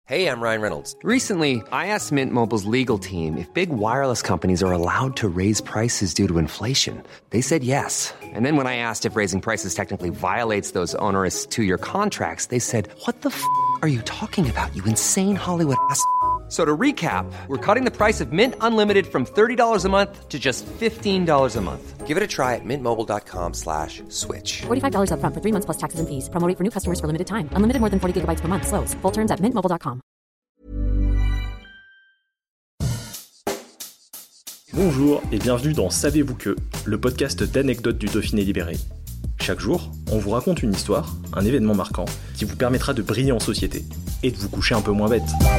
Hey, I'm Ryan Reynolds. Recently, I asked Mint Mobile's legal team if big wireless companies are allowed to raise prices due to inflation. They said yes. And then when I asked if raising prices technically violates those onerous two-year contracts, they said, "What the f*** are you talking about, you insane Hollywood ass?" So to recap, we're cutting the price of Mint Unlimited from $30 a month to just $15 a month. Give it a try at mintmobile.com/switch. $45 up front for 3 months plus taxes and fees. Promo rate for new customers for limited time. Unlimited more than 40 gigabytes per month. Slows full terms at mintmobile.com. Bonjour et bienvenue dans Savez-vous que, le podcast d'anecdotes du Dauphiné libéré. Chaque jour, on vous raconte une histoire, un événement marquant, qui vous permettra de briller en société et de vous coucher un peu moins bête.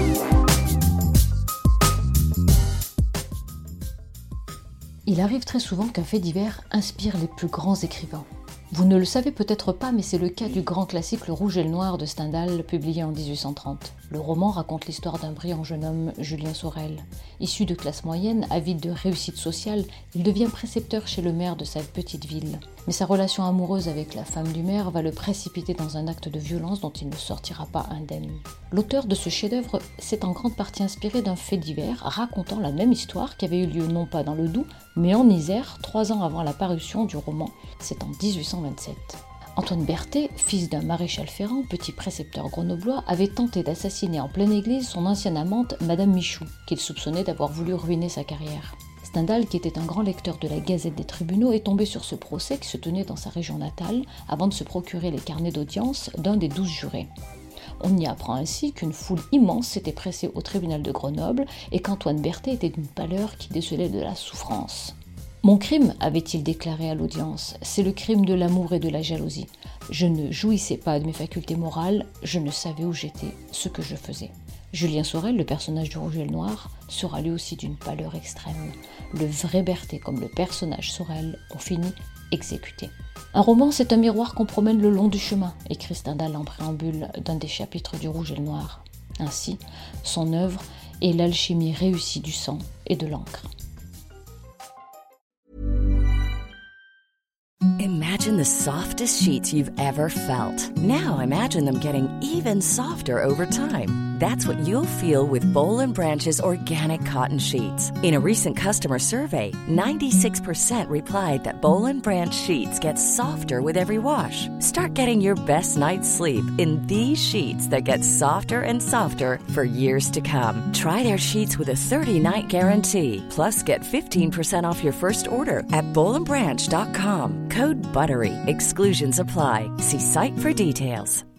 Il arrive très souvent qu'un fait divers inspire les plus grands écrivains. Vous ne le savez peut-être pas, mais c'est le cas du grand classique Le Rouge et le Noir de Stendhal, publié en 1830. Le roman raconte l'histoire d'un brillant jeune homme, Julien Sorel. Issu de classe moyenne, avide de réussite sociale, il devient précepteur chez le maire de sa petite ville. Mais sa relation amoureuse avec la femme du maire va le précipiter dans un acte de violence dont il ne sortira pas indemne. L'auteur de ce chef-d'œuvre s'est en grande partie inspiré d'un fait divers racontant la même histoire qui avait eu lieu non pas dans le Doubs, mais en Isère, 3 ans avant la parution du roman. C'est en 1827. Antoine Berthet, fils d'un maréchal Ferrand, petit précepteur grenoblois, avait tenté d'assassiner en pleine église son ancienne amante, Madame Michou, qu'il soupçonnait d'avoir voulu ruiner sa carrière. Stendhal, qui était un grand lecteur de la Gazette des tribunaux, est tombé sur ce procès qui se tenait dans sa région natale avant de se procurer les carnets d'audience d'un des 12 jurés. On y apprend ainsi qu'une foule immense s'était pressée au tribunal de Grenoble et qu'Antoine Berthet était d'une pâleur qui décelait de la souffrance. « Mon crime, avait-il déclaré à l'audience, c'est le crime de l'amour et de la jalousie. Je ne jouissais pas de mes facultés morales, je ne savais où j'étais, ce que je faisais. » Julien Sorel, le personnage du Rouge et le Noir, sera lui aussi d'une pâleur extrême. Le vrai Berthet comme le personnage Sorel ont fini exécutés. Un roman, c'est un miroir qu'on promène le long du chemin, écrit Stendhal en préambule d'un des chapitres du Rouge et le Noir. Ainsi, son œuvre est l'alchimie réussie du sang et de l'encre. Imagine the softest sheets you've ever felt. Now imagine them getting even softer over time. That's what you'll feel with Boll & Branch's organic cotton sheets. In a recent customer survey, 96% replied that Boll & Branch sheets get softer with every wash. Start getting your best night's sleep in these sheets that get softer and softer for years to come. Try their sheets with a 30-night guarantee. Plus, get 15% off your first order at bollandbranch.com. Code BUTTERY. Exclusions apply. See site for details.